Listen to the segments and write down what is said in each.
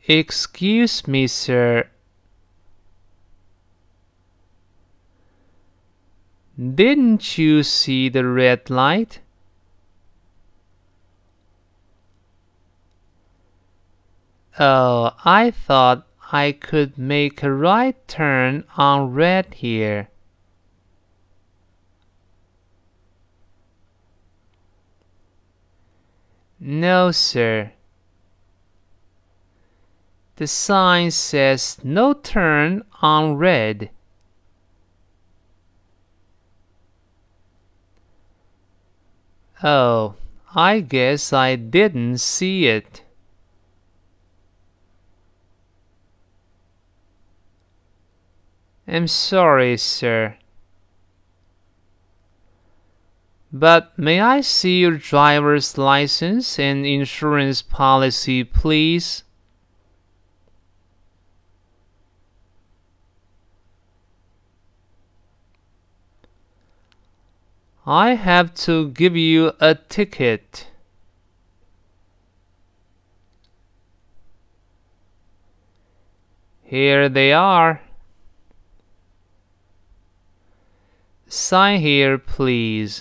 Excuse me, sir. Didn't you see the red light? Oh, I thought I could make a right turn on red here. No, sir. The sign says no turn on red. Oh, I guess I didn't see it. I'm sorry, sir. But may I see your driver's license and insurance policy, please? I have to give you a ticket. Here they are. Sign here, please.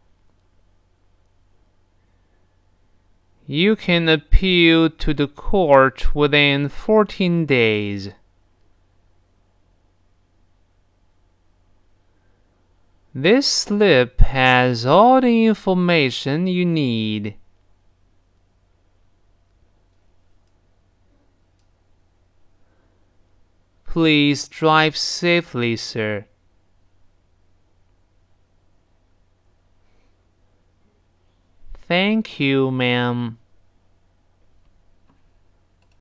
You can appeal to the court within 14 days. This slip has all the information you need. Please drive safely, sir. Thank you, ma'am.